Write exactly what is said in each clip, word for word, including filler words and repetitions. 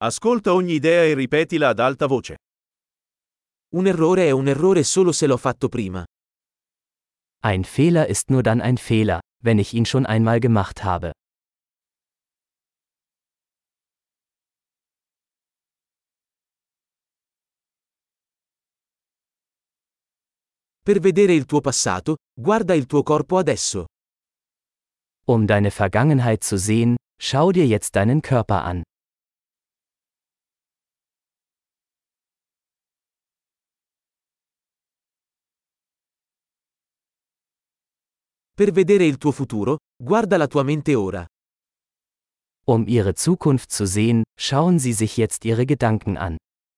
Ascolta ogni idea e ripetila ad alta voce. Un errore è un errore solo se l'ho fatto prima. Ein Fehler ist nur dann ein Fehler, wenn ich ihn schon einmal gemacht habe. Per vedere il tuo passato, guarda il tuo corpo adesso. Um deine Vergangenheit zu sehen, schau dir jetzt deinen Körper an. Per vedere il tuo futuro, guarda la tua mente ora. Um Ihre Zukunft zu sehen, schauen Sie sich jetzt Ihre Gedanken an.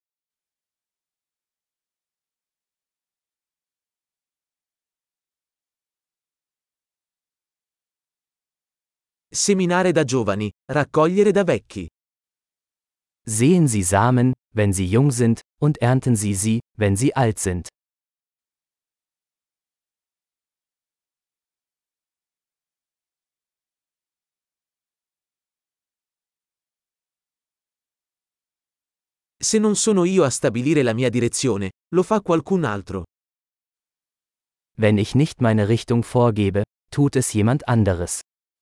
Seminare da giovani, raccogliere da vecchi. Sehen Sie Samen, wenn sie jung sind, und ernten Sie sie, wenn sie alt sind. Se non sono io a stabilire la mia direzione, lo fa qualcun altro. Wenn ich nicht meine Richtung vorgebe, tut es jemand anderes.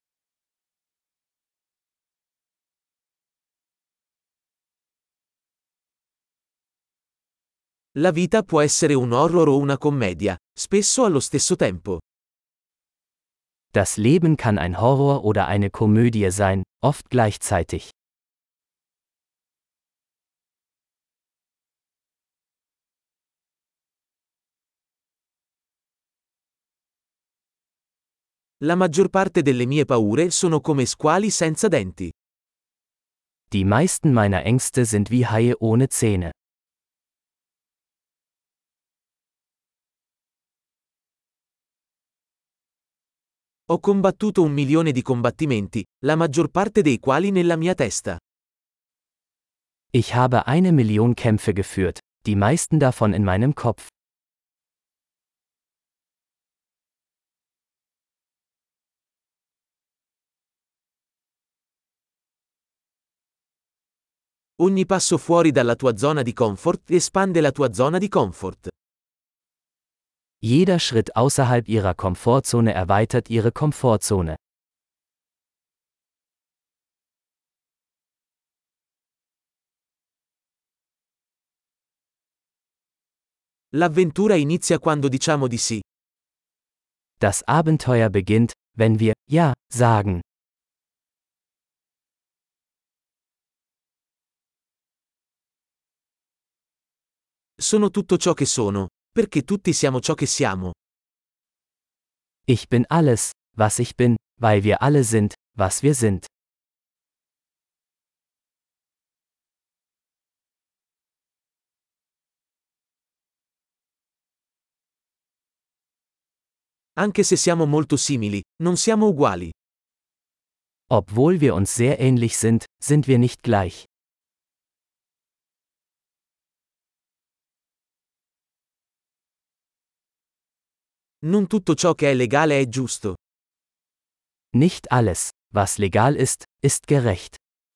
La vita può essere un horror o una commedia, spesso allo stesso tempo. Das Leben kann ein Horror oder eine Komödie sein, oft gleichzeitig. La maggior parte delle mie paure sono come squali senza denti. Die meisten meiner Ängste sind wie Haie ohne Zähne. Ho combattuto un milione di combattimenti, la maggior parte dei quali nella mia testa. Ich habe eine Million Kämpfe geführt, die meisten davon in meinem Kopf. Ogni passo fuori dalla tua zona di comfort espande la tua zona di comfort. Jeder Schritt außerhalb Ihrer Komfortzone erweitert Ihre Komfortzone. L'avventura inizia quando diciamo di sì. Das Abenteuer beginnt, wenn wir Ja sagen. Sono tutto ciò che sono, perché tutti siamo ciò che siamo. Ich bin alles, was ich bin, weil wir alle sind, was wir sind. Anche se siamo molto simili, non siamo uguali. Obwohl wir uns sehr ähnlich sind, sind wir nicht gleich. Non tutto ciò che è legale è giusto. Nicht alles, was legal ist, ist gerecht.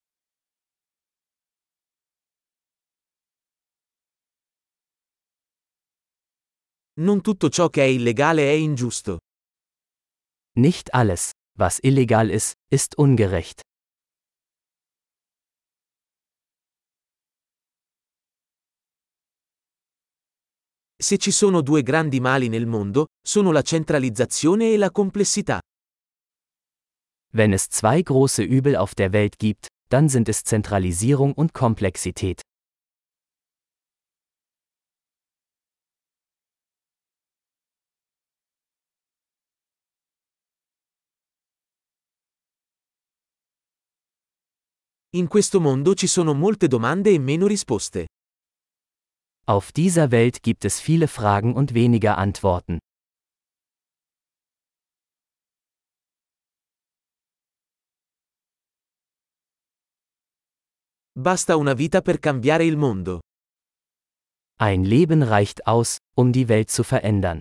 Non tutto ciò che è illegale è ingiusto. Nicht alles, was illegal ist, ist ungerecht. Se ci sono due grandi mali nel mondo, sono la centralizzazione e la complessità. Wenn es zwei große Übel auf der Welt gibt, dann sind es Zentralisierung und Komplexität. In questo mondo ci sono molte domande e meno risposte. Auf dieser Welt gibt es viele Fragen und weniger Antworten. Basta una vita per cambiare il mondo. Ein Leben reicht aus, um die Welt zu verändern.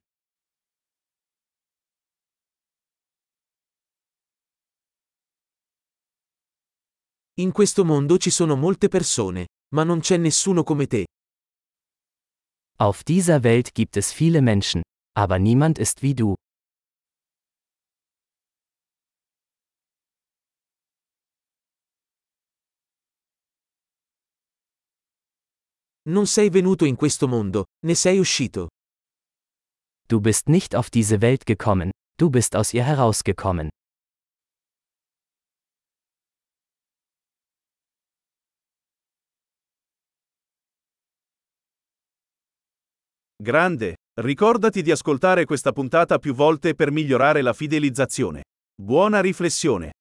In questo mondo ci sono molte persone, ma non c'è nessuno come te. Auf dieser Welt gibt es viele Menschen, aber niemand ist wie du. Non sei venuto in questo mondo, ne sei uscito. Du bist nicht auf diese Welt gekommen, du bist aus ihr herausgekommen. Grande, ricordati di ascoltare questa puntata più volte per migliorare la fidelizzazione. Buona riflessione.